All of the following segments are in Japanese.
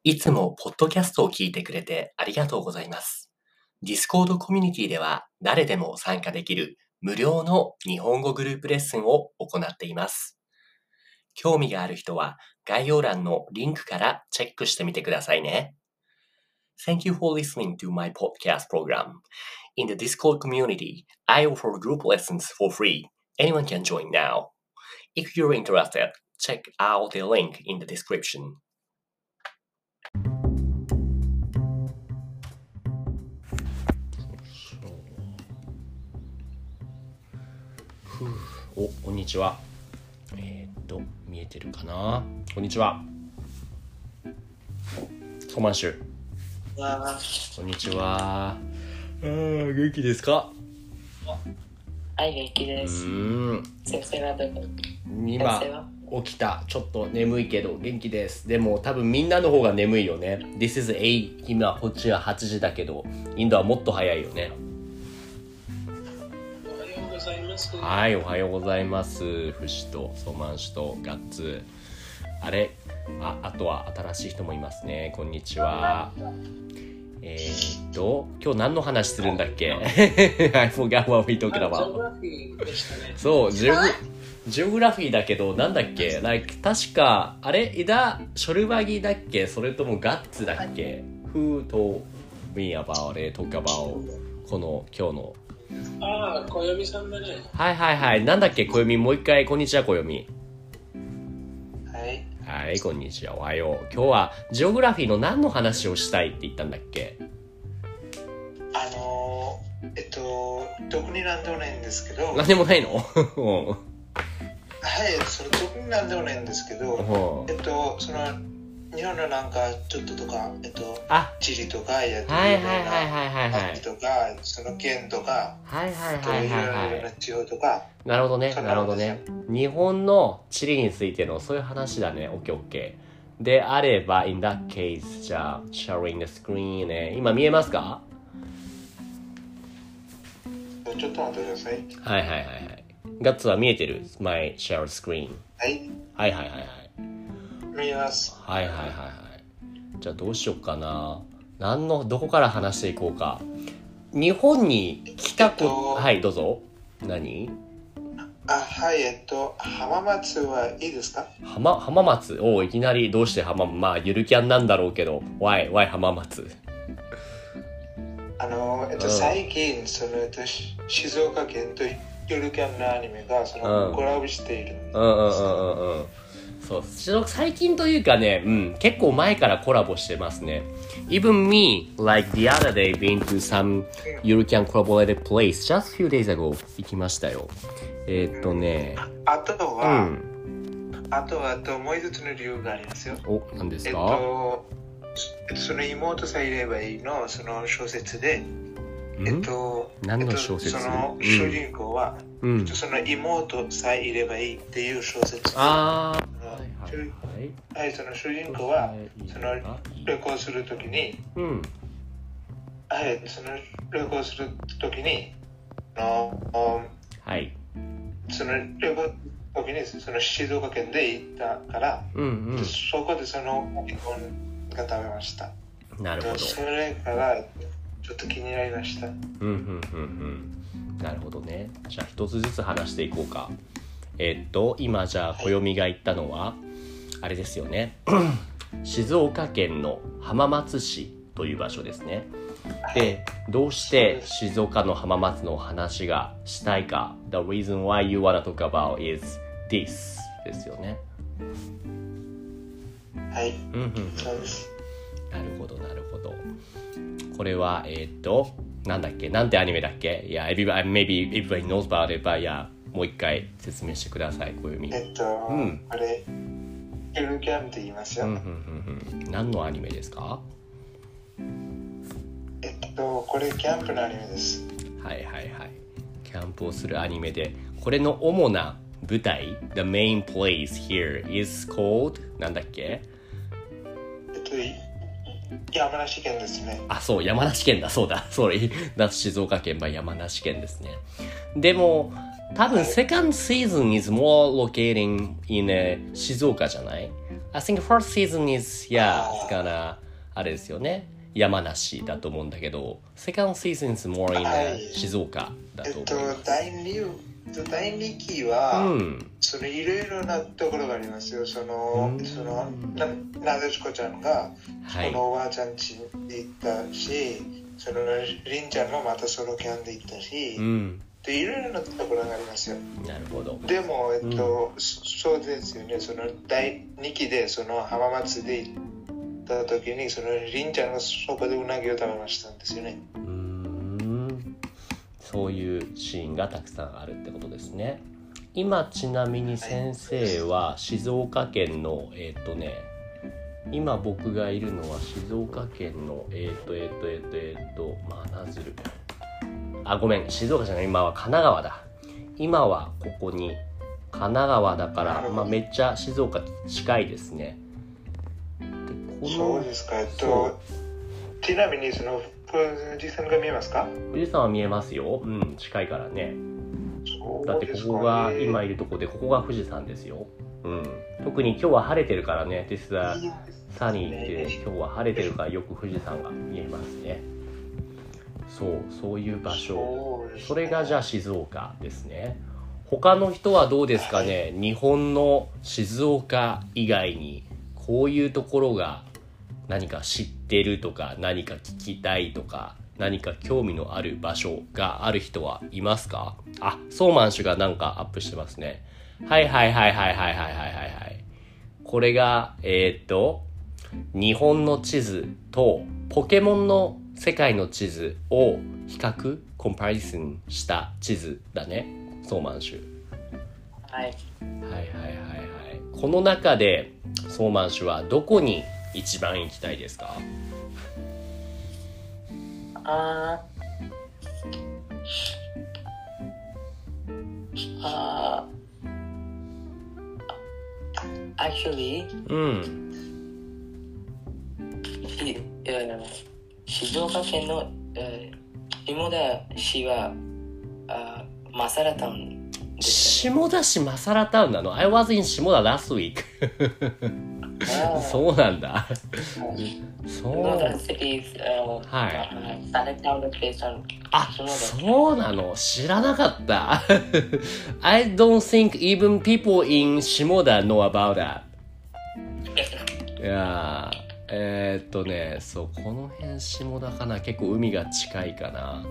いつもポッドキャストを聞いてくれてありがとうございます。Discord コミュニティでは誰でも参加できる無料の日本語グループレッスンを行っています。興味がある人は概要欄のリンクからチェックしてみてくださいね。Thank you for listening to my podcast program. In the Discord community, I offer group lessons for free. Anyone can join now. If you're interested, check out the link in the description. こんにちは。見えてるかな？こんにちは。コマンシュ。こんにちは。元気ですか？ はい、元気です。先生はどこ？ 今起きた。ちょっと眠いけど元気です。でも多分みんなの方が眠いよね。This is 8。今こっちは8時だけど、インドはもっと早いよね。はい、おはようございます。フシとソマンシュとガッツ。あとは新しい人もいますね。こんにちは。今日何の話するんだっけ？ I forgot what we talked about. そう、ジオグラフィーだけど、なんだっけ？確か、イダ・ショルバギだっけ？それともガッツだっけ？ Who told me about it? Talk about この今日の小読さんだね。 はい。なんだっけ、小読み。もう一回、こんにちは、小読み。はい、こんにちは。おはよう。今日は、ジオグラフィーの何の話をしたいって言ったんだっけ？ 特になんでもないんですけど。 何でもないの？ はい、それ特になんでもないんですけど、その日本のなんかちょっととか、地理とかやってるようなとか、その県とか、いろいろな地方とか。 なるほどね。日本の地理についてのそういう話だね。オッケー。であれば、in that case、じゃあ、sharing the screen ね。今見えますか？ ちょっと待ってください。 はい。ガッツは見えてる？ My share screen。はい。 見えます。 はい。じゃあどうしようかな。どこから話していこうか。日本に来たはい、どうぞ。何？ はい、浜松はいいですか？ 浜松？いきなりどうしてゆるキャンなんだろうけど、why 浜松？ 最近静岡県とゆるキャンのアニメがコラボしているんです。 そう、最近というかね、結構前からコラボしてますね。Even me, like the other day, been to some Yurukan collaborated place just few days ago. 行きましたよ。 あとはもう一つの理由がありますよ。 何ですか？ その妹さえいればいいの、その小説で、 何の小説？ その主人公は、その妹さえいればいいっていう小説。その主人公はその旅行するときに、その旅行するときに、その旅行時にその静岡県で行ったから、そこでそのお煮込みが食べました。 なるほど。 それからちょっと気になりました。 なるほどね。じゃあ一つずつ話していこうか。今じゃあ暦が言ったのは、あれですよね。静岡県の浜松市という場所ですね。で、どうして静岡の浜松の話がしたいか。The reason why you wanna talk about is this ですよね。 はい。そうです。 なるほど。これはなんだっけ？なんてアニメだっけ？いや、maybe everybody knows about it, but もう一回説明してください、小読み。 これゆるキャンって言いますよ。 何のアニメですか？ これキャンプのアニメです。 はい。キャンプをするアニメで、これの主な舞台 The main place here is called なんだっけ？ 山梨県ですね。 そう、山梨県だ。そうだ。静岡県は山梨県ですね。でも多分、second season is more locating in 静岡じゃない？ I think first season is, yeah, it's gonna, あれですよね。山梨だと思うんだけど、second season is more in、静岡だと思います。 第2期は、そのいろいろなところがありますよ。なでしこちゃんが、このおばあちゃん家に行ったし、そのりんちゃんもまたソロキャンで行ったし、でいろいろなところがありますよ。 なるほど。 でも、そうですよね。その第2期でその浜松で行った時に、そのりんちゃんがそこでうなぎを食べましたんですよね。 そういうシーンがたくさんあるってことですね。今ちなみに先生は静岡県の今僕がいるのは静岡県の真鶴。あ、ごめん、静岡じゃない、今は神奈川だ。今はここに神奈川だから、めっちゃ静岡近いですね。 でそうですか。ちなみにその富士山が見えますか？ 富士山は見えますよ。近いからね。だってここが今いるとこで、ここが富士山ですよ。特に今日は晴れてるからね。This is sunny って今日は晴れてるからよく富士山が見えますね。そういう場所。それがじゃあ静岡ですね。他の人はどうですかね。日本の静岡以外にこういうところが何か知ってるとか、何か聞きたいとか、何か興味のある場所がある人はいますか？あ、ソーマン氏がなんかアップしてますね。はい。これが日本の地図とポケモンの世界の地図を比較コンパリソンした地図だね、ソーマン氏。 はい。 この中でソーマン氏はどこに一番行きたいですか ？Actually, 静岡県の下田市はマサラタウンですね。 下田市マサラタウンなの？ I was in 下田 last week そうなんだ。そうなの？知らなかった。I don't think even people in 下田 know about that. いやそう、この辺下田かな。結構海が近いかな。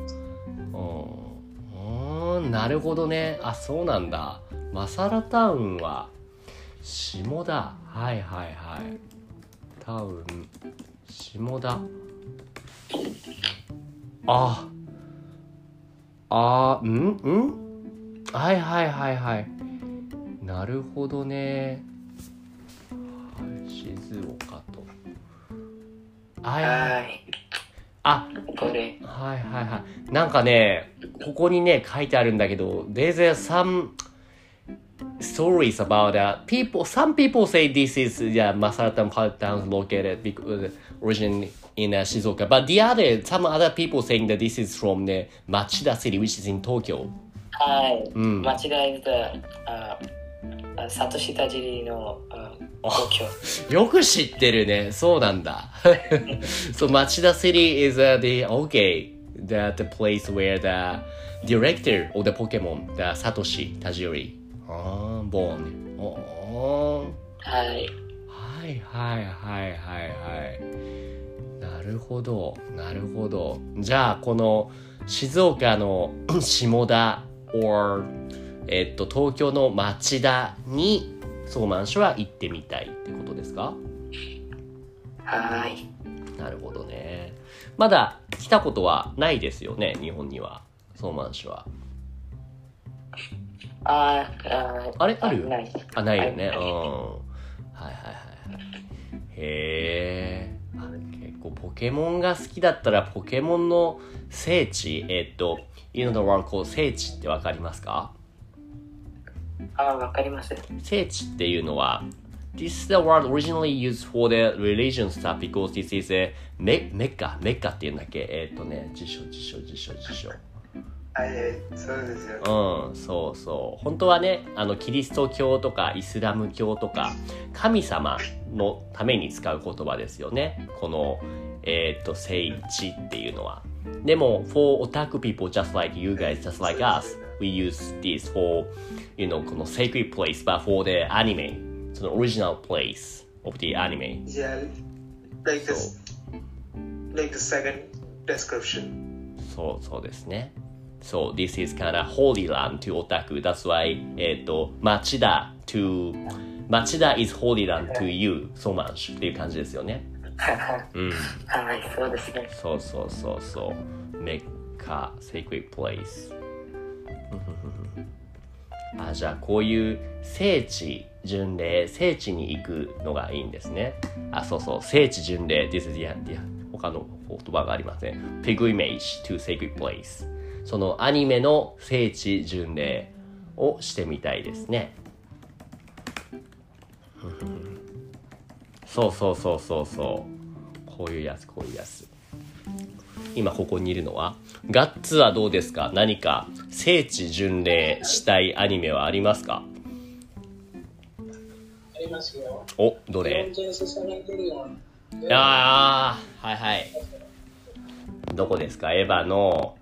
なるほどね。あ、そうなんだ。マサラタウンは下田。はいタウン下田。はいなるほどね。静岡となんかね、ここにね書いてあるんだけど、there's some stories about some people say this is Masaratan part town located because originally in Shizuoka, but some other people saying that this is from the Machida city, which is in Tokyo. 町田 is the サトシ田尻の東京。よく知ってるね。そうなんだ。So Machida city is the place where the director of the Pokemon, the Satoshi Tajiri, born. なるほど。じゃあこの静岡の下田 or東京の町田にソーマン氏は行ってみたいってことですか？なるほどね。まだ来たことはないですよね、日本には。ソーマン氏は。あれある？ないよね。へえ。結構ポケモンが好きだったらポケモンの聖地、You know the word called 聖地ってわかりますか？ わかります。 聖地っていうのは This is the word originally used for the religion stuff because this is a メッカっていうんだっけ？辞書はい、そうですよ。 そうそう。本当はね、キリスト教とかイスラム教とか、神様のために使う言葉ですよね。この、聖地っていうのは。でも、for otaku people just like you guys, just like us, we use this for, この sacred place, but for the anime, その original place of the anime. Yeah, like the second description. そうですね。So this is kind of holy land to otaku. That's why, 町田 is holy land to you so much っていう感じですよね。 はい、そうですね。 そう。メッカ sacred place じゃあこういう聖地巡礼、聖地に行くのがいいんですね。聖地巡礼 This is他の言葉がありません。Pilgrimage to sacred place そのアニメの聖地巡礼をしてみたいですね。そうこういうやつ今ここにいるのはガッツはどうですか？何か聖地巡礼したいアニメはありますか？ ありますよ。 お、どれ？はいどこですか？エヴァの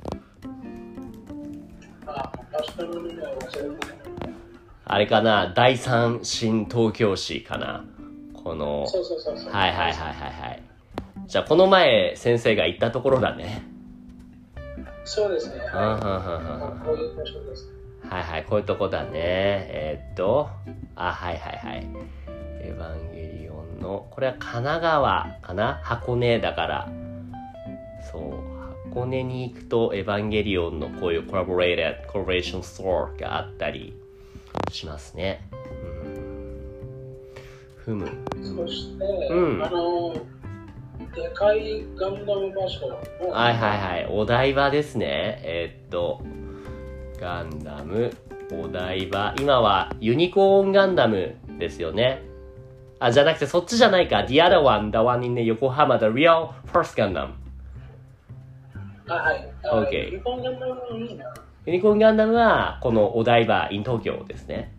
あれかな、第三新東京市かな、このそうはいじゃあこの前先生が行ったところだね。 そうですね。こういう場所です。 こういうとこだね。エヴァンゲリオンのこれは神奈川かな、箱根だから、そう箱根に行くとエヴァンゲリオンのこういうコラボレーションストアがあったりしますね。 そして、でかいガンダム場所。 お台場ですね。ガンダムお台場、今はユニコーンガンダムですよね。じゃなくてそっちじゃないか。The other one, the one in Yokohama, the real first Gundam. Okay. ユニコーンガンダムいいな。 ユニコーンガンダムはこのお台場 in 東京ですね。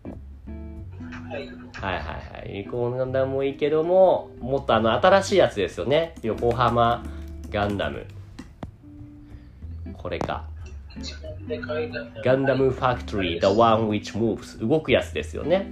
ユニコーンガンダムもいいけども、もっと新しいやつですよね。横浜ガンダム。これか。ガンダムファクトリー The one which moves 動くやつですよね。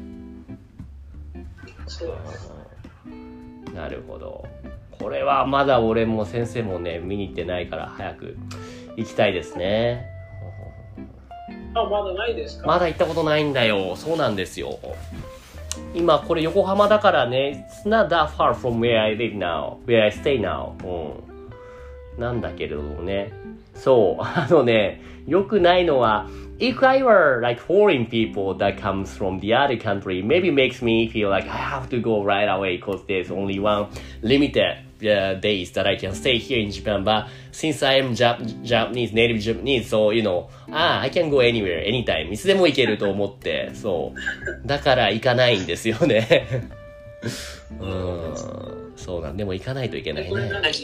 なるほど。これはまだ俺も先生もね見に行ってないから早く行きたいですね。 まだないですか？ まだ行ったことないんだよ。そうなんですよ。今これ横浜だからね、It's not that far from where I live now, where I stay now、なんだけれどもね、そうよくないのは If I were like foreign people that comes from the other country, maybe makes me feel like I have to go right away because there's only one limited days that I can stay here in Japan. But since I am Japanese, native Japanese, so I can go anywhere, anytime. いつでも行けると思って、だから行かないんですよね。そうなんでも行かないといけないね。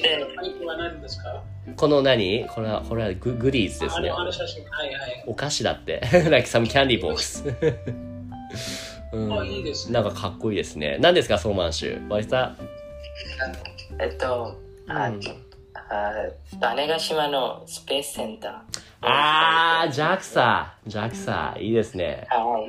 この何？これはグリーズですね。お菓子だって。like some candy box いいですね。 なんかかっこいいですね。何ですか、ソーマンシュ？バイスタ？ 種子島のスペースセンター。 JAXA いいですね。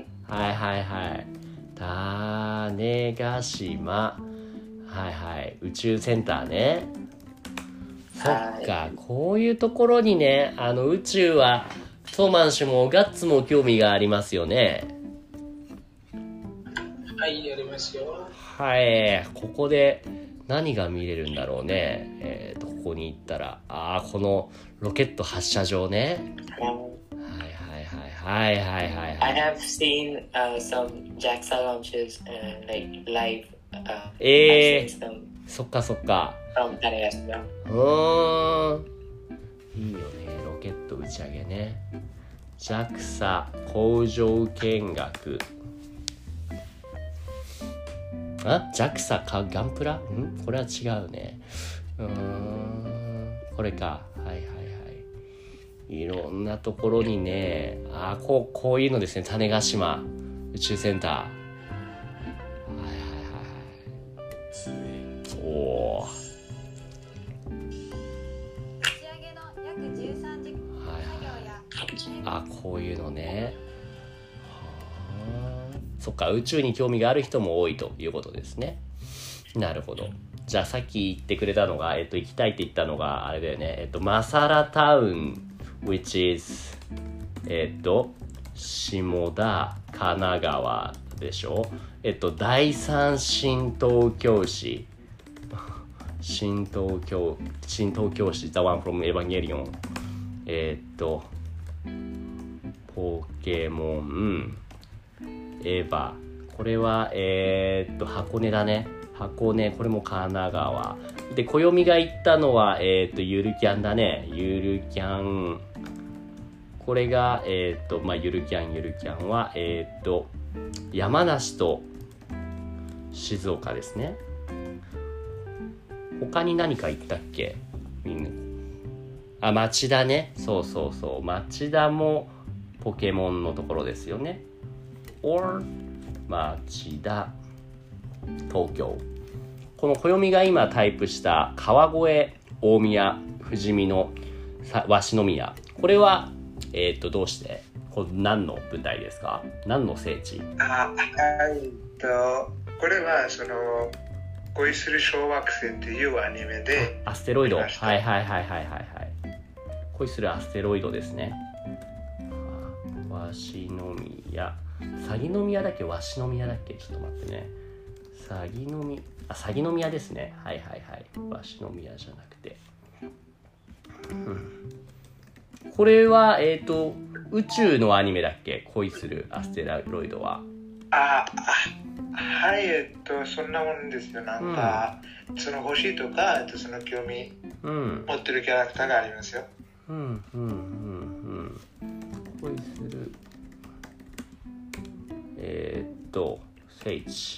種子島、宇宙センターね。そっか、こういうところにね、宇宙はソーマン氏もガッツも興味がありますよね。 ありますよ。 ここで何が見れるんだろうね。ここに行ったら、このロケット発射場ね。 I have seen some JAXA launches like live. そっか。 from 種子島。 いいよね、ロケット打ち上げね。JAXA 工場見学。JAXA かガンプラ？これは違うね。これか。 いろんなところにね、こういうのですね。種子島宇宙センター。はい。おー。 打ち上げの約13時作業や、 こういうのね。そっか、宇宙に興味がある人も多いということですね。なるほど。じゃあさっき言ってくれたのが、行きたいって言ったのがあれだよね。マサラタウン which is 下田神奈川でしょ。第三新東京市新東京市 The one from Evangelion ポケモンエヴァ、これは箱根だね。箱根、これも神奈川で、暦が言ったのはゆるキャンだね。ゆるキャン、これがゆるキャンは山梨と静岡ですね。他に何か言ったっけ？みんな町田ね。そう町田もポケモンのところですよね。or 町田東京。この暦が今タイプした川越、大宮、富士見の鷲宮、これはどうして、これ何の舞台ですか？何の聖地？ これは恋する小惑星っていうアニメで、 アステロイド、はい。恋するアステロイドですね。鷲宮、鷺宮だっけ、鷲宮だっけ、ちょっと待ってね。鷺宮ですね。はい。鷲宮じゃなくて、これは宇宙のアニメだっけ？恋するアステロイドは。 はい、そんなもんですよ。なんか、その星とか、その興味持ってるキャラクターがありますよ。 恋する聖地。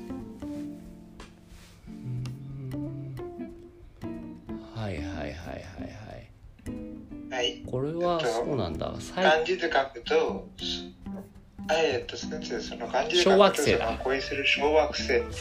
はい。これはそうなんだ。 漢字で書くと、先生、その漢字で書くと小惑星だ。 恋する小惑星で、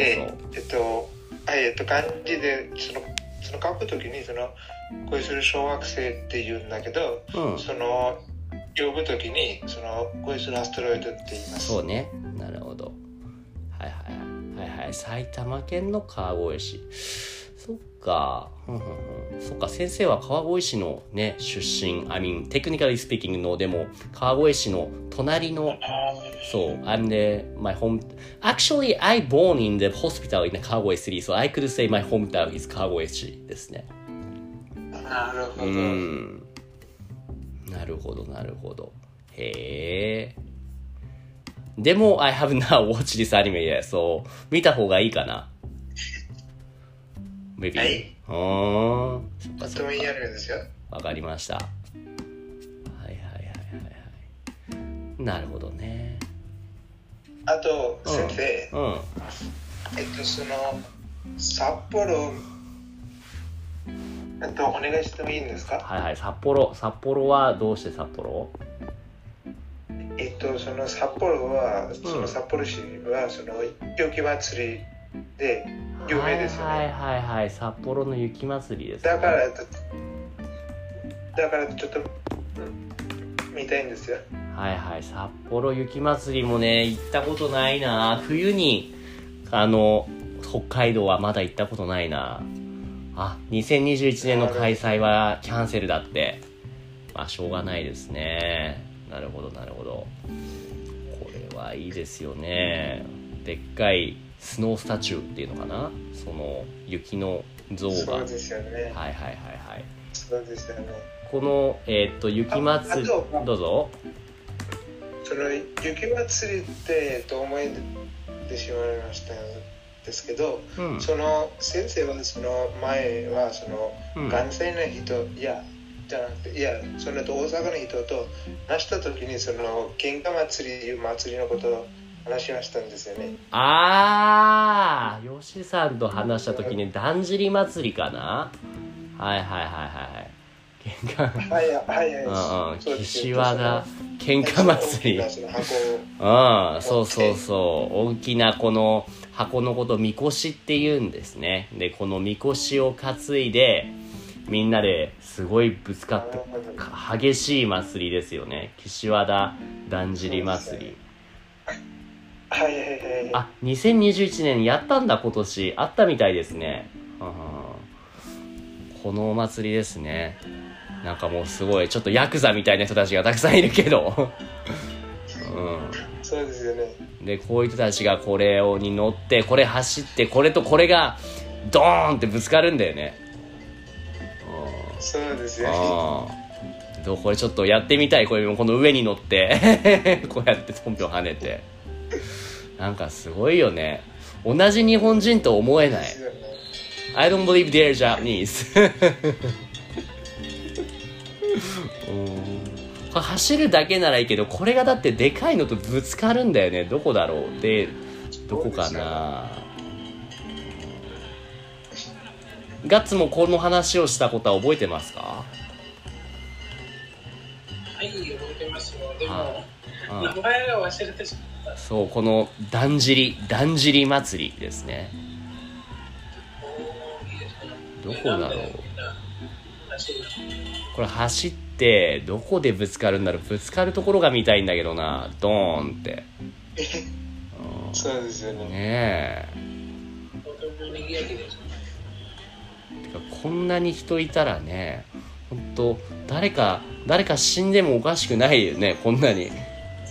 漢字でその書くときに恋する小惑星って言うんだけど、その呼ぶときに恋するアステロイドって言います。 そうね。なるほど。はい。埼玉県の川越市。そっか。そっか、先生は川越市のね出身。technically speaking の、でも川越市の隣の。そう。my home. Actually, I born in the hospital in Kagoe City, so I could say my hometown is 川越市ですね。 なるほど。 なるほど。へえ。でも I have not watched this anime yet, so 見た方がいいかな。Maybe. はい。とてもいいアニメですよ。 わかりました。はい。なるほどね。 あと、先生。札幌、お願いしてもいいんですか？ はい。札幌はどうして札幌？ その札幌は、札幌市は雪まつりで有名ですよね。 はい。札幌の雪まつりですね。 だからちょっと見たいんですよ。 はい。札幌雪まつりもね、行ったことないな。冬に北海道はまだ行ったことないな。2021年の開催はキャンセルだって。しょうがないですね。なるほど。これはいいですよね。でっかいスノースタチューっていうのかな、その雪の像が。 そうですよね。 はい。 そうですよね。 この雪まつり、どうぞ。 その雪まつりって思い出しまいましたですけど、その先生はその前は関西の人、じゃなくて、その大阪の人と話した時に喧嘩祭りいう祭りのことを話しましたんですよね。 ヨシさんと話した時にだんじり祭りかな。はい。 岸和田喧嘩祭り。そうそうそう。大きなこの箱のことをみこしって言うんですね。で、このみこしを担いで、みんなですごいぶつかって激しい祭りですよね。岸和田だんじり祭り。あ、2021年やったんだ。今年あったみたいですね。このお祭りですね。なんかもうすごいちょっとヤクザみたいな人たちがたくさんいるけどそうですよね。 でこういう人たちがこれに乗ってこれ走ってこれとこれがドーンってぶつかるんだよね。 そうですよね。 これちょっとやってみたい。この上に乗ってこうやってトンピョン跳ねてなんかすごいよね。同じ日本人と思えない。I don't believe they're Japanese 走るだけならいいけど、これがだってでかいのとぶつかるんだよね。どこだろう。でどこかな。ガッツもこの話をしたことは覚えてますか？ はい、覚えてますよ。でも名前が忘れてしまった。 そう、このだんじり祭りですね。どこだろう。これ走ってどこでぶつかるんだろう。ぶつかるところが見たいんだけどな。ドーンってそうですよね。 ねえ。こんなに人いたらね、本当誰か死んでもおかしくないよね。こんなに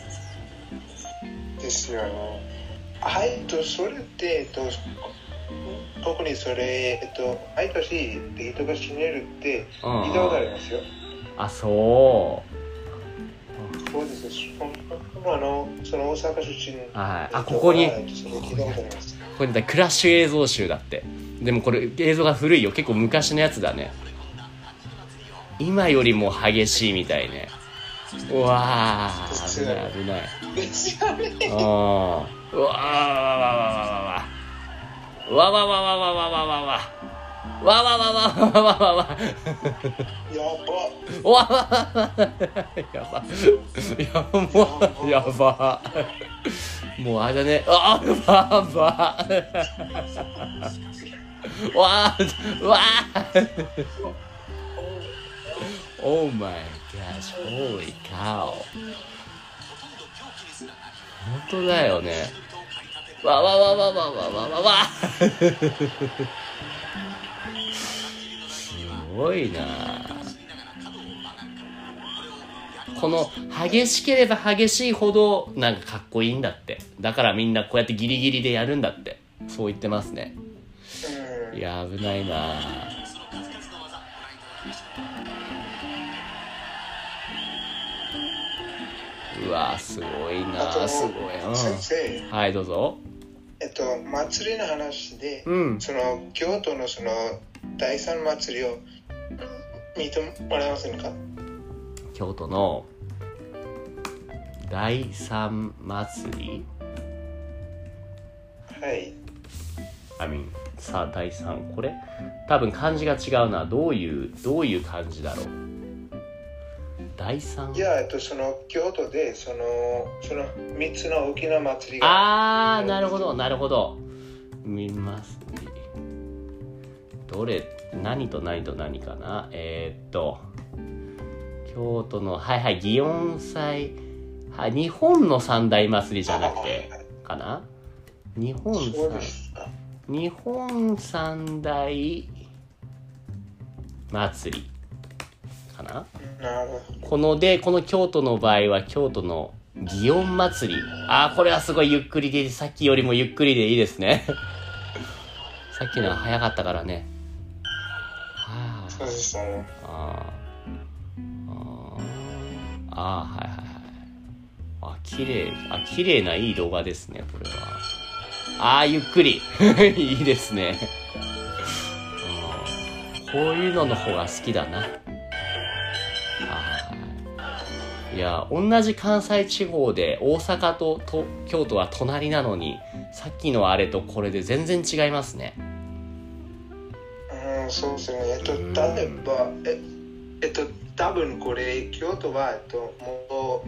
ですよね。それって特にそれ毎年人が死ねるって聞いたことありますよ。 あ、そうです。その大阪出身。 はい。あ、ここにこれだ、クラッシュ映像集だって。でもこれ映像が古いよ。結構昔のやつだね。今よりも激しいみたいね。うわー、危ない。うわーわやばもうあれだね。Oh my gosh, holy cow。 本当だよね。すごいな。この激しければ激しいほどなんかかっこいいんだって。だからみんなこうやってギリギリでやるんだって。そう言ってますね。いや危ないな。うわすごいな。すごい。 先生、 はいどうぞ。 祭りの話で、その京都のその第三祭りを見てもらえませんか？ 京都の第三祭り。 はい。 さあ第三、これ多分漢字が違うな。どういう漢字だろう。第三。 いやその京都でその3つの大きな祭りが。 なるほど。見ますね。どれ何と何と何かな。京都の祇園祭、日本の三大祭りじゃなくてかな。日本三大祭りかな。この京都の場合は京都の祇園祭り。これはすごいゆっくりで、さっきよりもゆっくりでいいですねさっきのは早かったからね。 そうでしたね。 綺麗ないい動画ですねこれは。ゆっくりいいですねこういうのの方が好きだな。いや同じ関西地方で大阪と京都は隣なのに、さっきのあれとこれで全然違いますね。 そうですね。例えば多分これ京都は元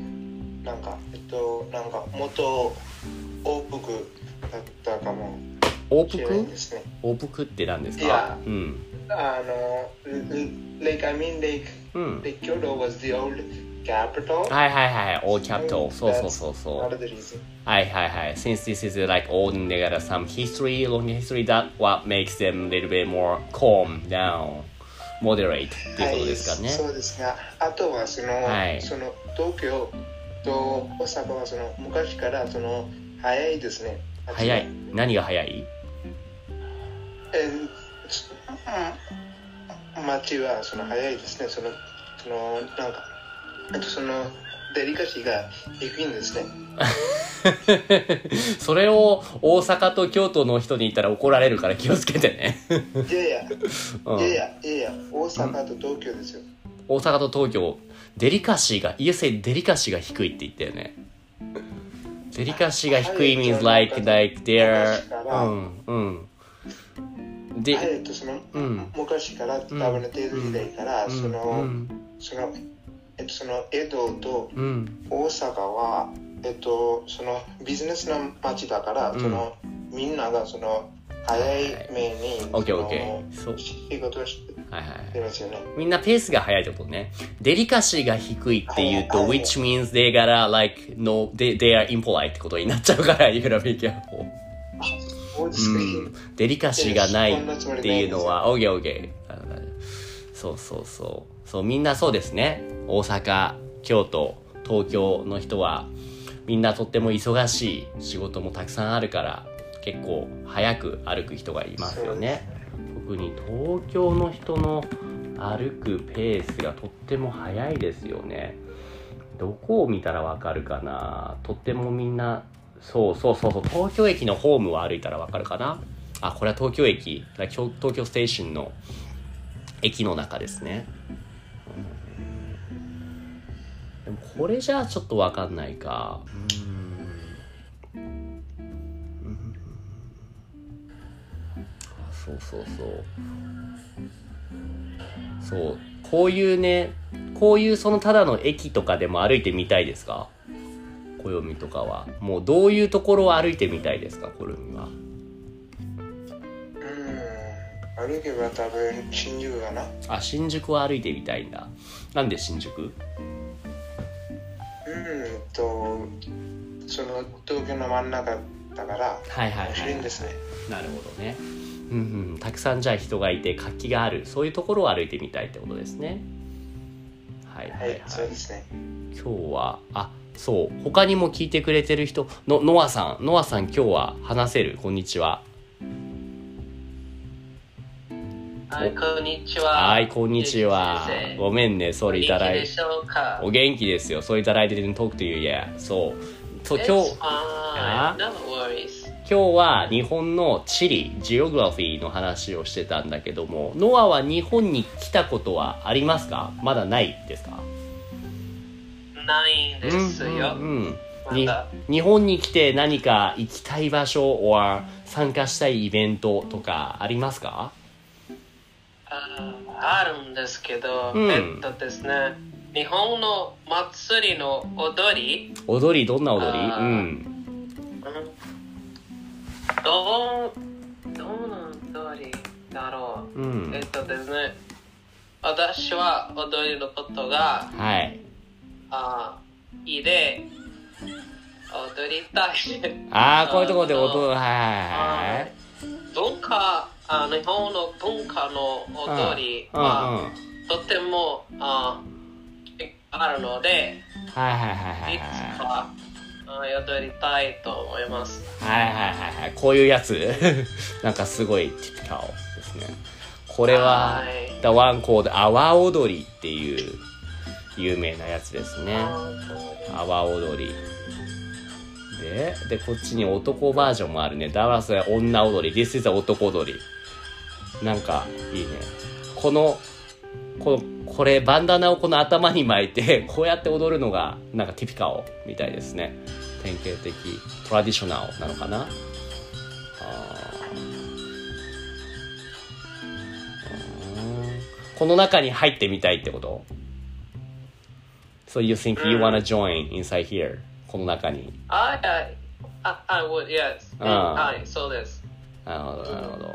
王国だったかもしれないですね。 王国って何ですか？ いや、Lake Kyoto was the old capital. はいはいはい、old capital。そう。はいはいはい。Since this is like old and they got some history, long history, that what makes them a little bit more calm down, moderate っていうことですかね。 そうですが、あとはその東京と大阪は昔から早いですね。 早い。何が早い？ 街は早いですね。デリカシーが低いんですね。 それを大阪と京都の人に言ったら怒られるから気をつけてね。 いや、大阪と東京ですよ。 大阪と東京、デリカシーが低いって言ったよね。デリカシーが低い means like they're で、昔から多分帝都時代から江戸と大阪はビジネスの街だから、みんなが早い目に仕事をしてますよね。 みんなペースが早いってことね。デリカシーが低いっていうと、which means they gotta like no they are impolite ってことになっちゃうから、you gotta be careful。デリカシーがないっていうのは OK そうみんなそうですね。大阪、京都、東京の人はみんなとっても忙しい、仕事もたくさんあるから結構早く歩く人がいますよね。特に東京の人の歩くペースがとっても早いですよね。どこを見たらわかるかな。とってもみんなそう東京駅のホームを歩いたらわかるかな。あ、これは東京駅、東京ステーションの駅の中ですね。でもこれじゃあちょっとわかんないか。そうこういうそのただの駅とかでも歩いてみたいですか？暦とかはもうどういうところを歩いてみたいですか？暦は歩けば多分新宿かな。 あ、新宿を歩いてみたいんだ。なんで新宿？ 東京の真ん中だから面白いんですね。 なるほどね。たくさんじゃあ人がいて活気がある、そういうところを歩いてみたいってことですね。はい、 そうですね。 今日は他にも聞いてくれてる人のノアさん今日は話せる？こんにちは。 はい、こんにちは。 はい、こんにちは。ごめんね、それいただいて。お元気ですよ。そういただいてるtalk to you yet。そう今日は日本の地理、ジオグラフィーの話をしてたんだけども、ノアは日本に来たことはありますか？まだないですか？ ないんですよ。 日本に来て何か行きたい場所or参加したいイベントとかありますか？ あるんですけど、ですね、日本の祭りの踊り、 どんな踊り？ どんな踊りだろう。ですね、私は踊りのことがいいで踊りたい。 こういうところで踊る。 日本の文化の踊りはとてもあるので、いつか踊りたいと思います。 こういうやつなんかすごいティピカルですね。これは The one called 阿波踊りっていう有名なやつですね。阿波踊りでこっちに男バージョンもあるね。だからそれ女踊り。This is 男踊り。なんかいいね。これバンダナをこの頭に巻いてこうやって踊るのがなんかティピカルみたいですね。典型的トラディショナルなのかな。 この中に入ってみたいってこと？ So you think you wanna join inside here? この中に。 I would, yes. はい、そうです。 なるほど、なるほど。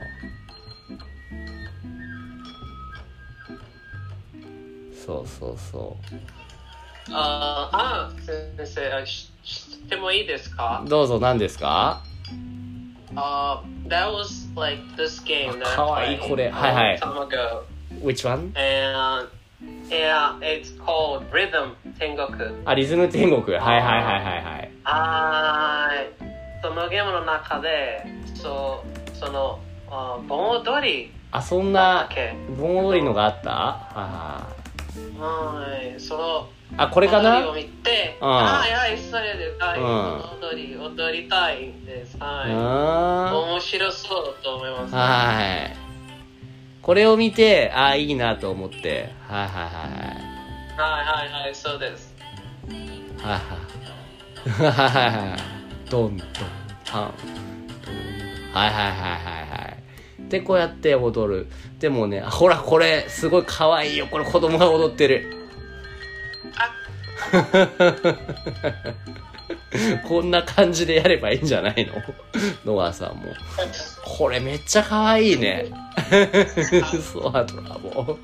そうそうそう。 先生、知ってもいいですか？ どうぞ、何ですか ？That was like this game that かわいいこれ。はいはい。 Time ago. Which one? And yeah, it's called Rhythm 天国。 リズム天国。はいはいはいはいはい。そのゲームの中で、その盆踊り。 そんな盆踊りのがあった？ はい。そのこれかな？ 踊りを見て、はい、それで、はい、踊りたいんです。はい。面白そうと思います。 はい。これを見て、いいなと思って、はいはいはい。 はいはいはい、そうです。 はいはいはい。ドンドンタン。はいはいはいはいはい。で、こうやって踊る。でもね、ほら、これ、すごい可愛いよ。これ、子供が踊ってる。こんな感じでやればいいんじゃないの？ノアさんも。これめっちゃ可愛いね。そう、アドラボ。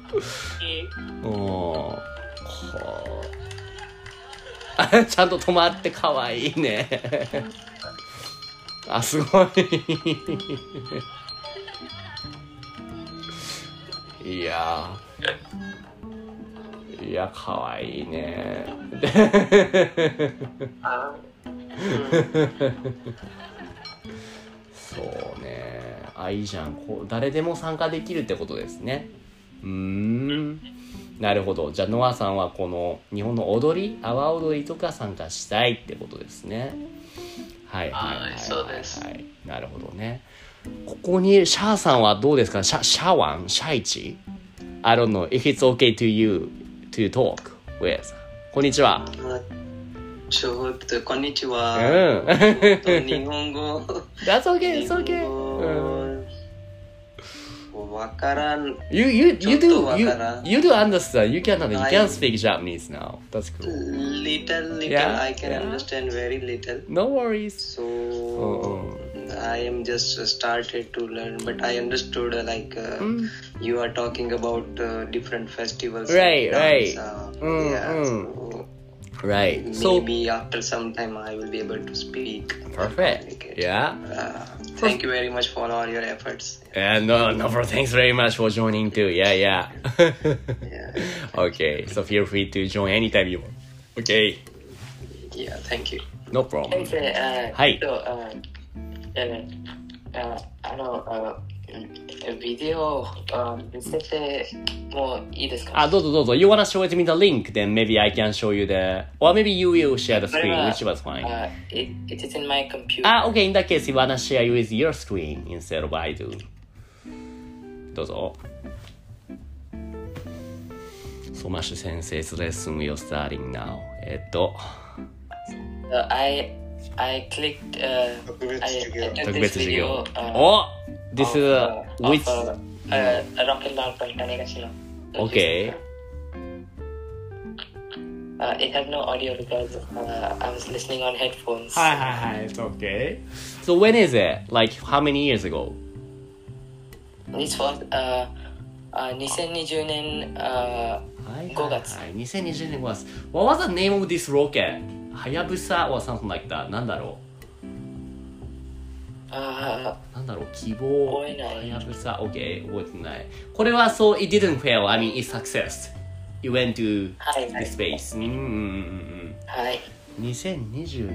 ちゃんと止まって可愛いね。すごい。いや、かわいいね。そうね。いいじゃん。誰でも参加できるってことですね。なるほど。じゃあノアさんはこの日本の踊り、阿波踊りとか参加したいってことですね。はいはいはい、はい、 そうです。 なるほどね。ここにシャーさんはどうですか？シャワン、シャイチ。I don't know if it's okay to you to talk with. こんにちは。 ちょっとこんにちは。日本語。 That's okay. It's okay. わからん。 You do understand. You can speak Japanese now. That's cool. Little. I can understand very little. No worries. So I am just started to learn, but I understood you are talking about different festivals. Right. Right. Maybe after some time I will be able to speak. Perfect. Yeah. Thank you very much for all your efforts. Thanks very much for joining too. Yeah. Okay. So feel free to join anytime you want. Okay. Yeah. Thank you. No problem. はい。ビデオ見せてもいいですか？ どうぞ。You wanna show it me the link? Then maybe I can show you or maybe you will share the screen, which was fine. It is in my computer. Okay. In that case, you wanna share with your screen instead of I do. どうぞ。ソマシュ先生 lesson will starting now. I clicked 特別授業。This is which Rock and Roll from Tanegashima. Okay. It had no audio because I was listening on headphones. Hi. It's okay. So when is it? Like how many years ago? This was 2020年5月。 2020年5月。What was the name of this rocket? Hayabusa or something like that. なんだろう？なんだろう？希望。Hayabusa. Okay. 覚えてない。これはSo it didn't fail. I mean, it's success. You went to the space. はい。 2020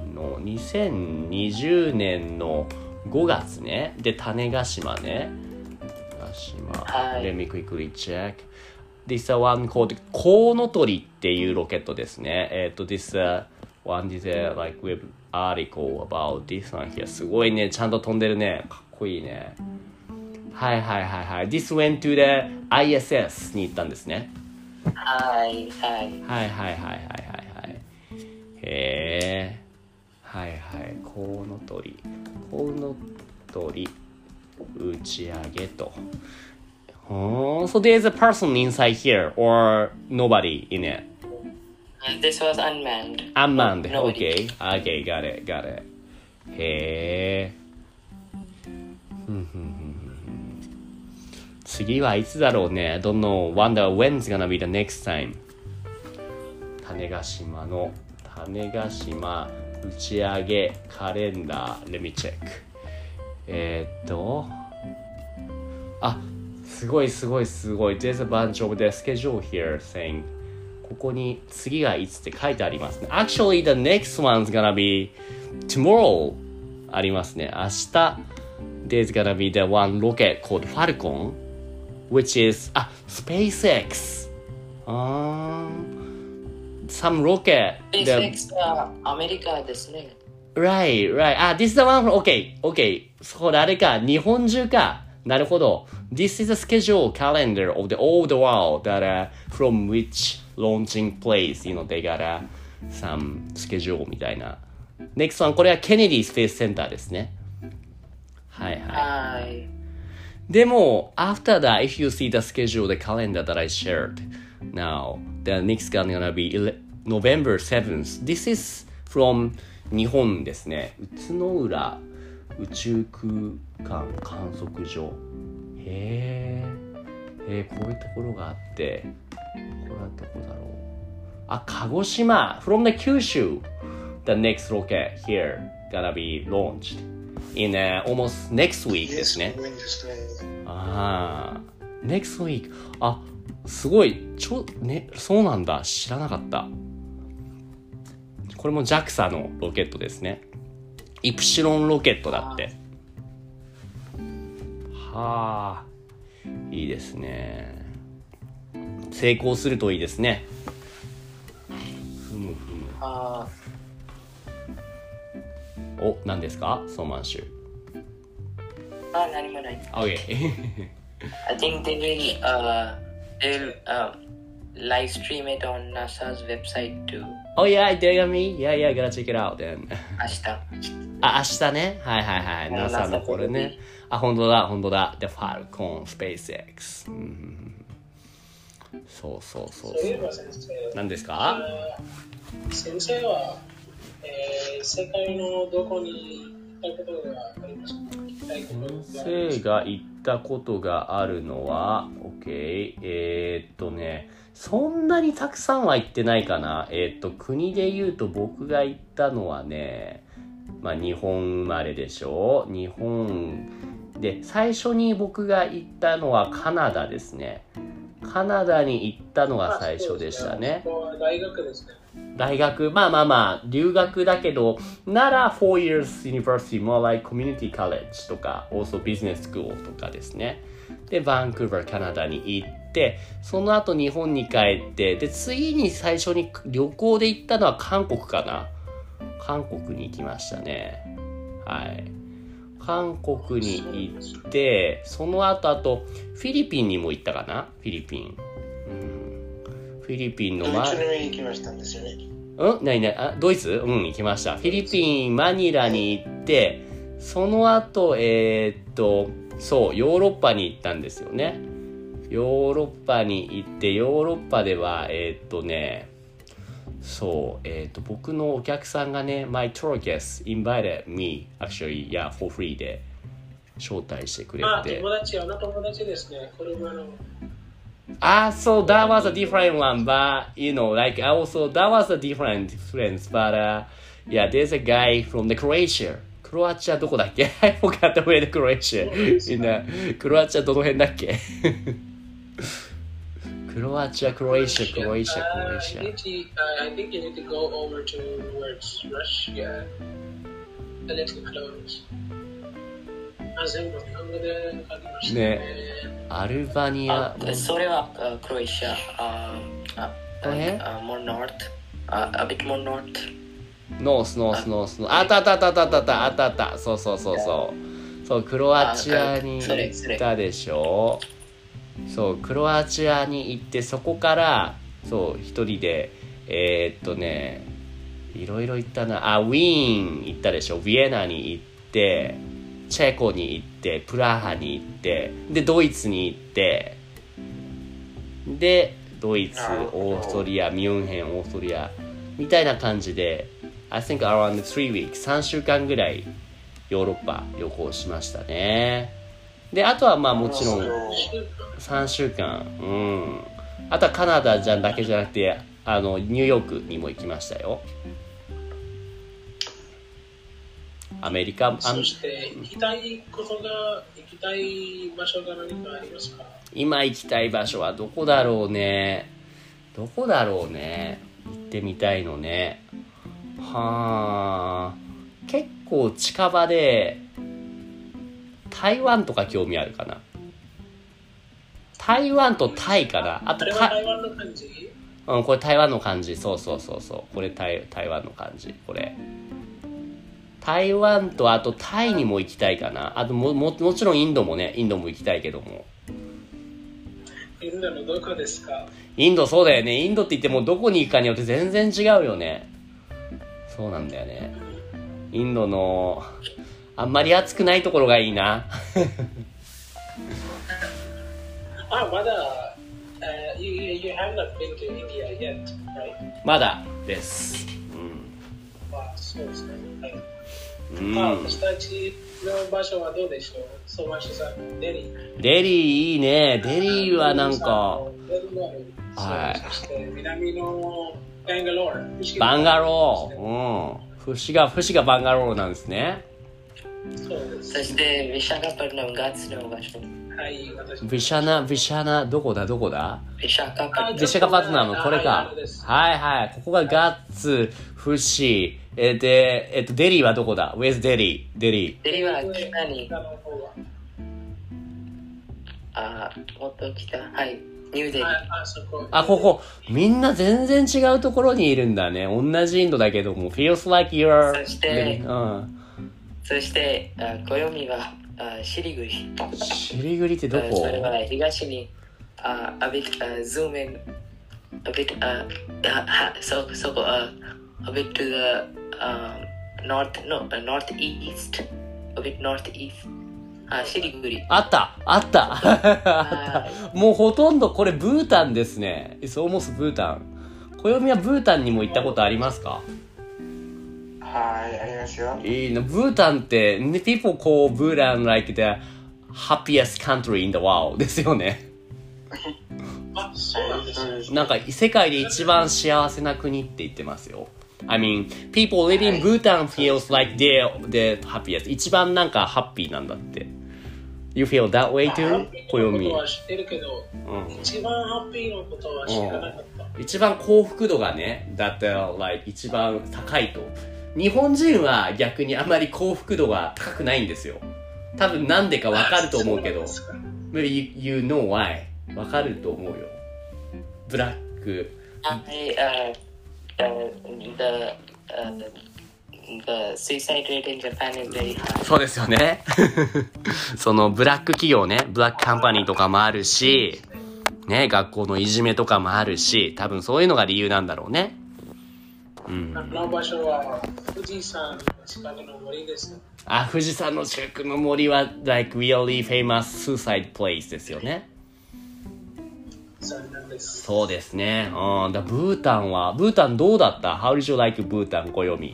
年の5月ね。で、種子島ね。Let me quickly check. This one called コウノトリっていうロケットですね。This one is like web article about this one here. すごいね、ちゃんと飛んでるね。かっこいいね。はい。This went to the ISS に行ったんですね。はい。へー。はい。コウノトリ打ち上げと。 So there's a person inside here or nobody in it? This was unmanned. Unmanned. Nobody. Okay, got it. へー。次はいつだろうね。Don't know. Wonder when's gonna be the next time. 種子島の種子島打ち上げカレンダー Let me check. すごい There's a bunch of the schedule here saying ここに次がいつって書いてありますね。Actually the next one's gonna be tomorrow ありますね。明日 There's gonna be the one rocket called Falcon which is SpaceX some rocket SpaceX はアメリカですね。 Right. This is the one okay. そうだ、あれか。日本中か。なるほど。This is the schedule calendar of the old world that from which launching place, they got some schedule みたいな。Next one、これはケネディスペースセンターですね。はい。でも、after that, if you see the schedule, the calendar that I shared, now, the next one gonna be November 7th. This is from 日本ですね。宇都浦宇宙空間観測所。へえ、こういうところがあって、これはどこだろう。鹿児島 from the 九州 the next rocket here gonna be launched in almost next week ですね。next week すごいそうなんだ、知らなかった。これも JAXA のロケットですね。イプシロンロケットだって。いいですね。成功するといいですね。何ですか、ソーマンシュ。 何もない。 Okay. I think they will live stream it on NASA's website too. Oh yeah, they're gonna be? Yeah, gotta check it out then. 明日ね。はい。NASA のこれね。本当だ。The Falcon SpaceX。そう。 そういえば先生。 何ですか？ 先生は、世界のどこに行ったことがありますか？ 先生が行ったことがあるのは、OK。そんなにたくさんは行ってないかな。国で言うと僕が行ったのはね、日本生まれでしょ。日本で最初に僕が行ったのはカナダですね。カナダに行ったのが最初でしたね。 大学ですね。 大学、留学だけど、なら4 years university, more like community college とか、also business school とかですね。で、バンクーバー、カナダに行って、その後日本に帰って、で、次に最初に旅行で行ったのは韓国かな。韓国に行きましたね。はい。韓国に行って、その後、フィリピンにも行ったかな。フィリピンのドイツに行きましたんですよね。 ドイツ？行きました。フィリピン、マニラに行って、その後、そう、ヨーロッパに行ったんですよね。ヨーロッパに行って、ヨーロッパでは、そう、僕のお客さんがね、my tour guest invited me, actually, yeah, for free で招待してくれて。 友達ですね。車の。 So that was a different one, but like also that was a different friends, but yeah, there's a guy from the Croatia. クロアチアどこだっけ？ I forgot where the Croatia. クロアチアどの辺だっけ？クロアチア。 I think you need to go over towards Russia. A little close. 全部日本語で書きましたね。 アルバニア。 それはクロアチア。more north. A bit more north. ノース。あった。そう。クロアチアに行ったでしょ。そう、クロアチアに行って、そこから、そう、一人で、いろいろ行ったな。ウィーン行ったでしょ。ビエナに行って、チェコに行って、プラハに行って、で、ドイツに行って、 でドイツ、オーストリア、ミュンヘン、オーストリアみたいな感じで I think around 3 weeks 3週間ぐらいヨーロッパ旅行しましたね。であとはまあもちろん3週間、あとはカナダだけじゃなくてニューヨークにも行きましたよ。アメリカ。 そして行きたい場所が何かありますか？ 今行きたい場所はどこだろうね。行ってみたいのね。結構近場で台湾とか興味あるかな。台湾とタイかな。あと台湾の感じ？ これ台湾の感じ。そうこれ台湾の感じ。これ台湾とあとタイにも行きたいかな。あともちろんインドも行きたいけども。 インドのどこですか？ インドそうだよね。インドって言ってもどこに行くかによって全然違うよね。そうなんだよね。インドのあんまり暑くないところがいいな。 まだ、you have not been to India yet, right? まだです。 そうですね。私たちの場所はどうでしょう？ソマシさん、デリーいいね。デリーはなんか、 そして南のバンガロー。節がバンガローなんですね。 そうです。そしてビシャカパトナムガッツの場所。 ビシャナどこだ？ビシャカパトナム、これか。ここがガッツ、節。デリーはどこだ？ Where's デリーは北に。もっと北。ニューデリー。 ここみんな全然違うところにいるんだね。同じインドだけども feels like you're そして暦はシリグリってどこ？ それは東にa bit zoom in a bit そこa bit to the northeast a bit northeastシリグリあったもうほとんどこれブータンですね。It's almost ブータン。暦はブータンにも行ったことありますか？ ありますよ。 いいの。ブータンって、people call Bhutan like the happiest country in the world ですよね。 そうなんですね。 なんか世界で一番幸せな国って言ってますよ。I mean, people living in Bhutan feels like they're the happiest. 一番なんかハッピーなんだって。You feel that way too? 暦は知ってるけど、一番ハッピーのことは知らなかった。 一番幸福度がね、that like 一番高いと。日本人は逆にあまり幸福度が高くないんですよ。多分なんでかわかると思うけど。Maybe you know why? わかると思うよ。ブラック。 The suicide rate in Japan is very high. そうですよね。そのブラック企業ね、ブラックカンパニーとかもあるし、ね、学校のいじめとかもあるし、多分そういうのが理由なんだろうね。 の場所は富士山の近くの森です。 富士山の近くの森は like really famous suicide place ですよね。そうですね。ブータンどうだった？ How did you like ブータン、暦？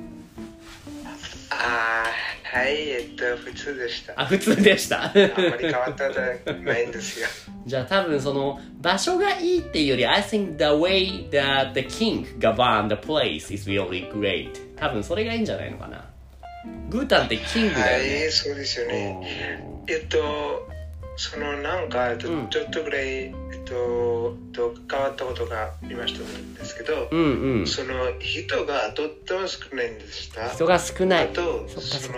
普通でした。 普通でした。あんまり変わったじゃないんですよ。 じゃあ多分その場所がいいっていうより I think the way that the king governed the place is really great. 多分それがいいんじゃないのかな。ブータンってキングだよね。 そうですよね。そのなんかちょっとぐらい変わったことがありましたんですけど、その人がとっても少ないんでした。 人が少ない。 あとそ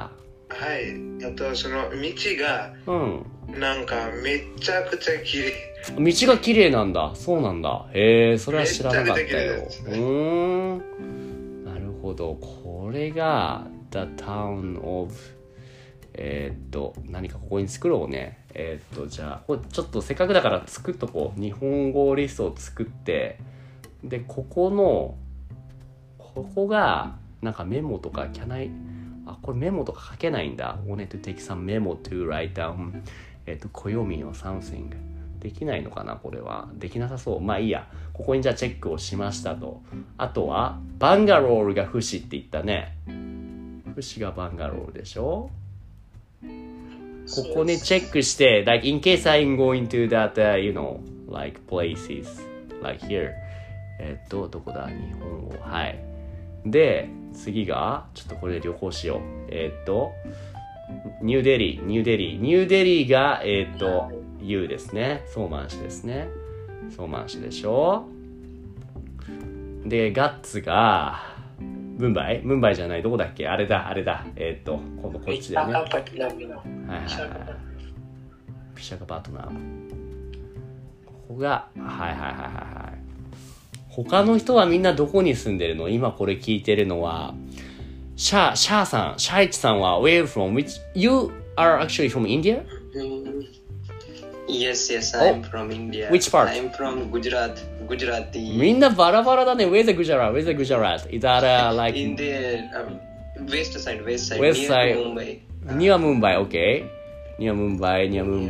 の道がなんかめちゃくちゃ綺麗。 道が綺麗なんだ。そうなんだ。へえ、それは知らなかったよ。なるほど。これが The Town of 何かここに作ろうね。じゃあちょっとせっかくだから作っとこう。日本語リストを作って、でここがなんかメモとかこれメモとか書けないんだ。wanted to take some memo to write down 暦or something できないのかなこれは。できなさそう。まあいいや。ここにじゃあチェックをしましたと。あとはバンガロールが不死って言ったね。不死がバンガロールでしょ。ここにチェックして like in case I'm going to that、like places like here どこだ日本語はいで次がちょっとこれで旅行しようニューデリーがU ですねソーマン市ですねソーマン市でしょでガッツがムンバイじゃないどこだっけあれだ今度こっちだよねピシャカパトナムここがはい他の人はみんなどこに住んでるの今これ聞いてるのはシャイチさんは where from which you are actually from India? Yes, I'm from India. Which part? I'm from Gujarati. みんなバラバラだね Where's the Gujarat? Is that like in the west side West near side Mumbai. Near Mumbai, okay. Near Mumbai.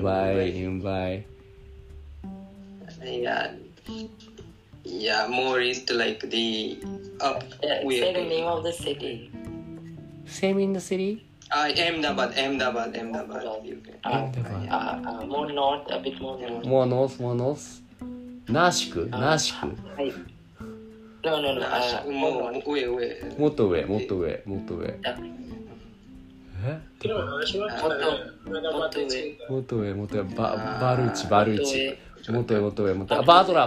Yeah, more east like the up. Say the name of the city. Same in the city? Ahmedabad. More north, a bit more north. More north? ナーシクはい。No. もっと上。 もっと上。 昨日の話はもっと上。バルチ。もっと上。バードラ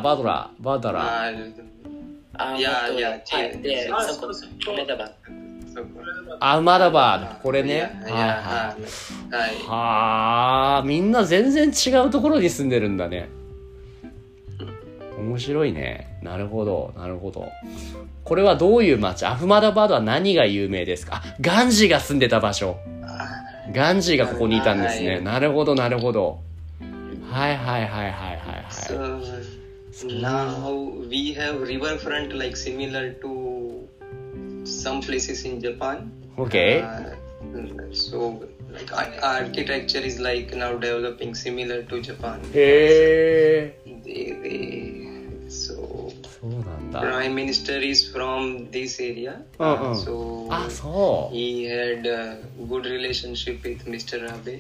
いや、 で、そこ、 アマダバードこれねはあみんな全然違うところに住んでるんだね面白いねなるほどこれはどういう町アフマダバードは何が有名ですかガンジーが住んでた場所ガンジーがここにいたんですねなるほどはい So now we have riverfront like similar to some places in Japan. Okay. So like architecture is like now developing similar to Japan. へー。そうなんだ。 Prime Minister is from this area. So he had a good relationship with Mr. Abe.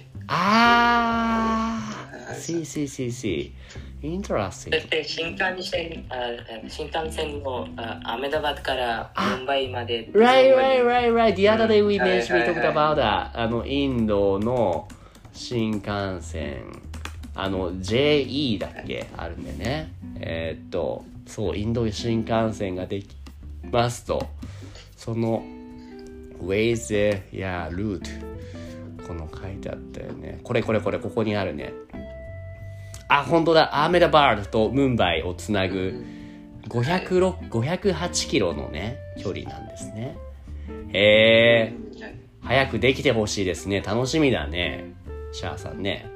See. Interesting. そして新幹線もアメダバドからムンバイまで Right. The other day we talked about that. インドの新幹線JE だっけあるんでねそうインド新幹線ができますとその Ways route この書いてあったよねこれここにあるね本当だアーメダバードとムンバイをつなぐ508キロのね距離なんですね早くできてほしいですね楽しみだねシャーさんね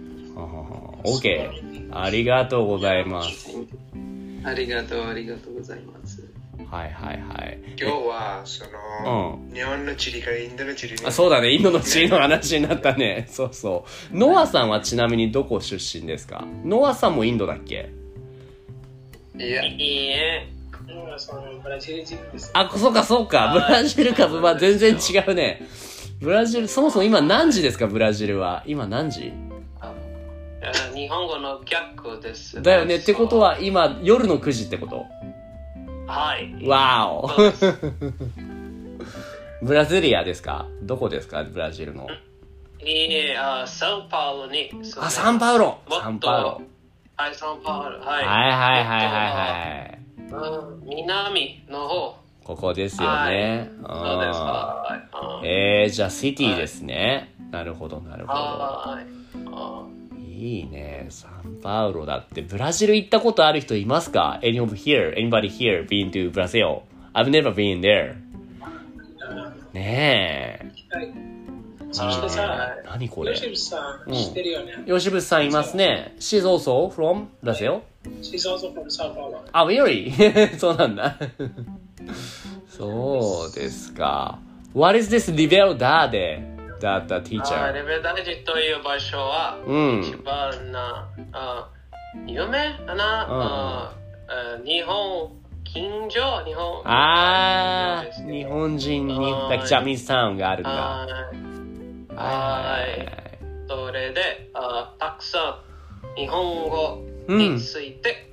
OK ありがとうございますありがとうございますはい今日は日本の地理からインドの地理にそうだねインドの地理の話になったねそうノアさんはちなみにどこ出身ですかノアさんもインドだっけいやノアさんはブラジル人ですそうかブラジルか全然違うねブラジルそもそも今何時ですかブラジルは今何時日本語の逆です、 だよねってことは今夜の9時ってことはいわおブラジリアですかどこですかブラジルのサンパウロにサンパウロはいサンパウロはい南の方ここですよねそうですじゃあシティですねなるほどいいねサンパウロだってブラジル行ったことある人いますか Anybody here been to Brazil? I've never been there ねえそしてさ何これ吉渕さん知ってるよね吉渕さんいますね She's also from Brazil? She's also from Sao Paulo really? そうなんだそうですか What is this Liberdade? That teacher レベルダージという場所は、一番夢日本近所日本日本人にジャミーズタウンがあるんだ。 それでたくさん日本語について、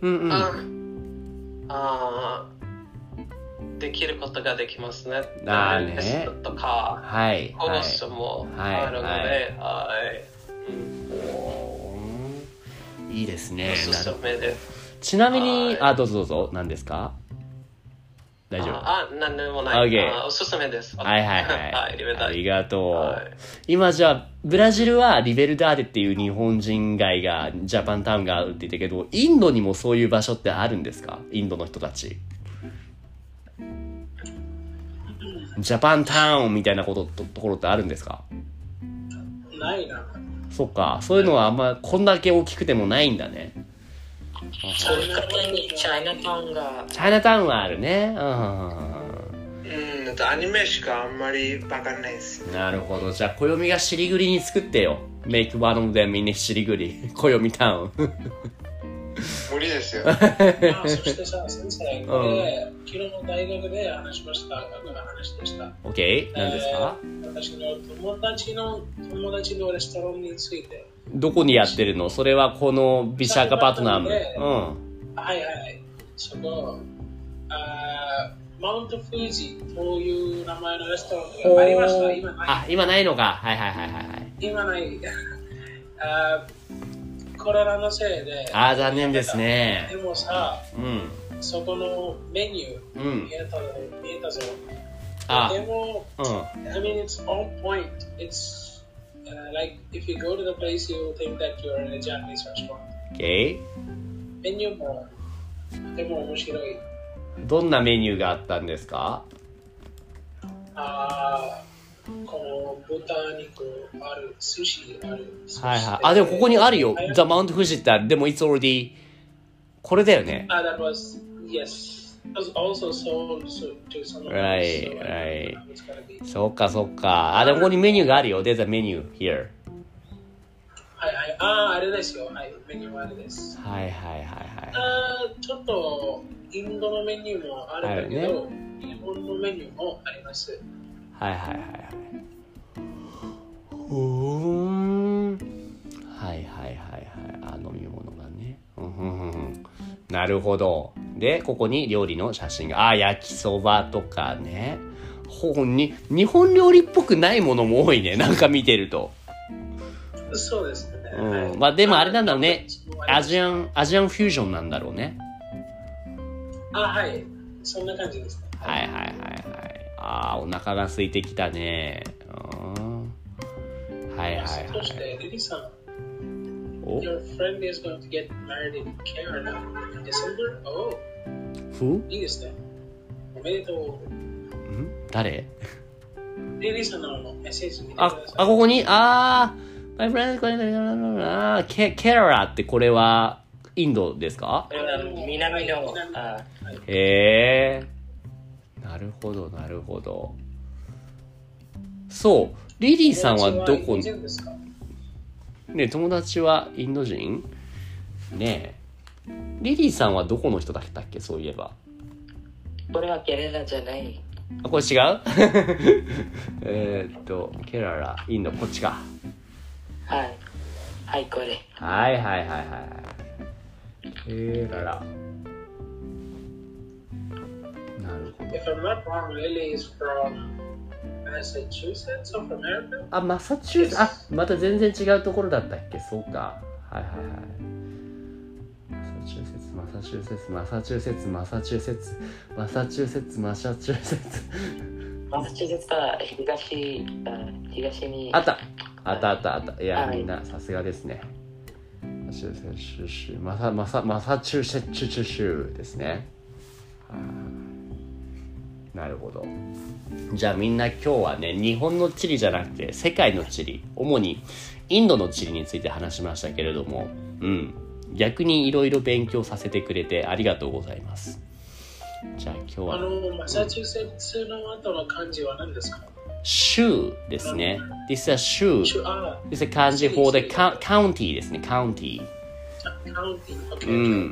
できることができますね。テストとか、コースもあるので、 いいですね。 おすすめです。 ちなみに、どうぞ、何ですか？大丈夫？ 何でもない。 Okay. おすすめです。 ありがとう。今じゃあ、ブラジルはリベルダーデっていう日本人街が、ジャパンタウンがあるって言ったけど、インドにもそういう場所ってあるんですか？インドの人たち。ジャパンタウンみたいなところってあるんですか？ ないな。 そっか、そういうのはあんまこんだけ大きくてもないんだね。 チャイナタウンが。 チャイナタウンはあるね。 アニメしかあんまりわかんないです。 なるほど。じゃあ暦がしりぐりに作ってよ。Make one of them in しりぐり。暦タウン。 無理ですよ。 そしてさ、先生、これ、昨日の大学で話しました。話でした。 OK？ 何ですか？ 私の友達のレストランについて。 どこにやってるの？それはこのビシャカパトナム。 そこ、マウントフージという名前のレストランがありました。今ない。 今ないのか。 今ない。コロナのせいで。 残念ですね。 でもさ、そこのメニュー見えたぞ。でも、I mean, it's on point. It's like if you go to the place, you will think that you're in a Japanese restaurant. Okay. メニューもとても面白い。 どんなメニューがあったんですか？ この豚肉ある、寿司ある。 でもここにあるよ。The Mount Fuji ってある。でも It's already これだよね。 That was, yes. It was also sold to someone else. Right. そっか。でもここにメニューがあるよ。There's a menu here. あれですよ。メニューはあれです。ちょっとインドのメニューもあるんだけど、日本のメニューもあります。 飲み物がね。なるほど。で、ここに料理の写真が。焼きそばとかね。日本料理っぽくないものも多いね。なんか見てると。 そうですね。 でもあれなんだろうね。アジアンフュージョンなんだろうね。 そんな感じですね。 お腹が空いてきたね。 そしてリリさん、Your friend is going to get married in Canada in December? Who? いいですね。おめでとう。 誰？ リリさんのメッセージ見てください。 ここにMy friend is going toケララってこれはインドですか？ 南の。 なるほど。そう。リリーさんはどこね、友達はインド人ねえ。リリーさんはどこの人だったっけ？そういえば。 これはケララじゃない。 これ違う？ケララ、インド、こっちか。 これ。 ケララ。なるほど。 If I'm not wrong, Lily is from Massachusetts of America? マサチューセッツ。また全然違うところだったっけ？そうか。マサチューセッツ。マサチューセッツは東に。 あった。いや、みんなさすがですね。マサチューセッツ州ですね。なるほど。じゃあみんな今日はね、日本の地理じゃなくて世界の地理、主にインドの地理について話しましたけれども、逆にいろいろ勉強させてくれてありがとうございます。じゃあ今日はマサチューセッツの後の漢字は何ですか？ 州ですね。This is a 州。This is a 漢字 for the county ですね。county。 counting. Okay.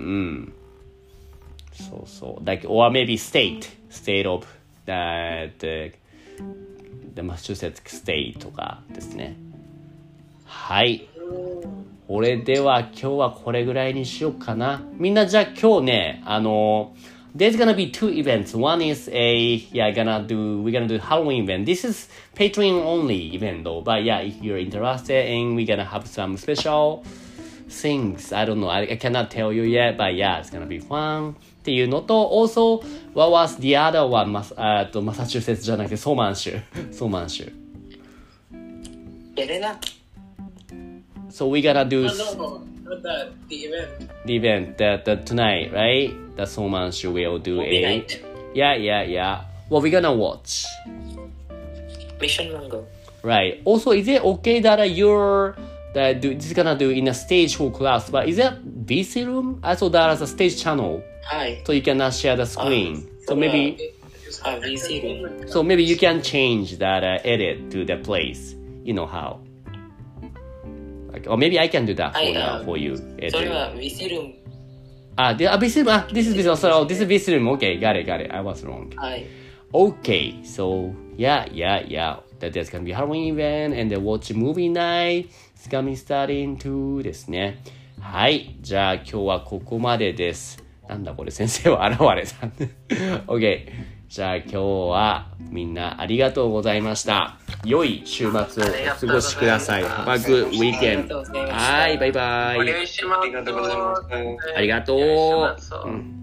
So, like, or maybe state of the Massachusetts state とかですね。はい。これでは今日はこれぐらいにしようかな。みんなじゃあ今日ね、there's gonna be 2 events. One is we're gonna do Halloween event. This is Patreon only event though. But yeah, if you're interested and we're gonna have some special things. I don't know. I cannot tell you yet, but yeah, it's gonna be fun. っていうのと、also, what was the other one? マサチューセッツじゃなくてソーマン州。 やれな。 So we're gonna do... No, not that. The event. The event, the tonight, right? The Somanshu will do Night. Yeah. What we're gonna watch? Mission Mango. Right. Also, is it okay that this is gonna do in a stage for class, but is it VC room? Also, there's a stage channel. Hi. So you cannot share the screen. So maybe... VC room. So maybe you can change that edit to the place. You know how. Or maybe I can do that for you. それはVC room. VC room. This is VC room. So this is VC room. Okay, got it. I was wrong. はい。 Okay, so yeah. There's gonna be Halloween event and the watch movie night. It's gonna be starting too ですね。はい、じゃあ今日はここまでです。なんだこれ、先生は現れた。OK。じゃあ今日はみんなありがとうございました。良い週末をお過ごしください。Have a good weekend. はい、バイバイ。 お願いします。 ありがとう。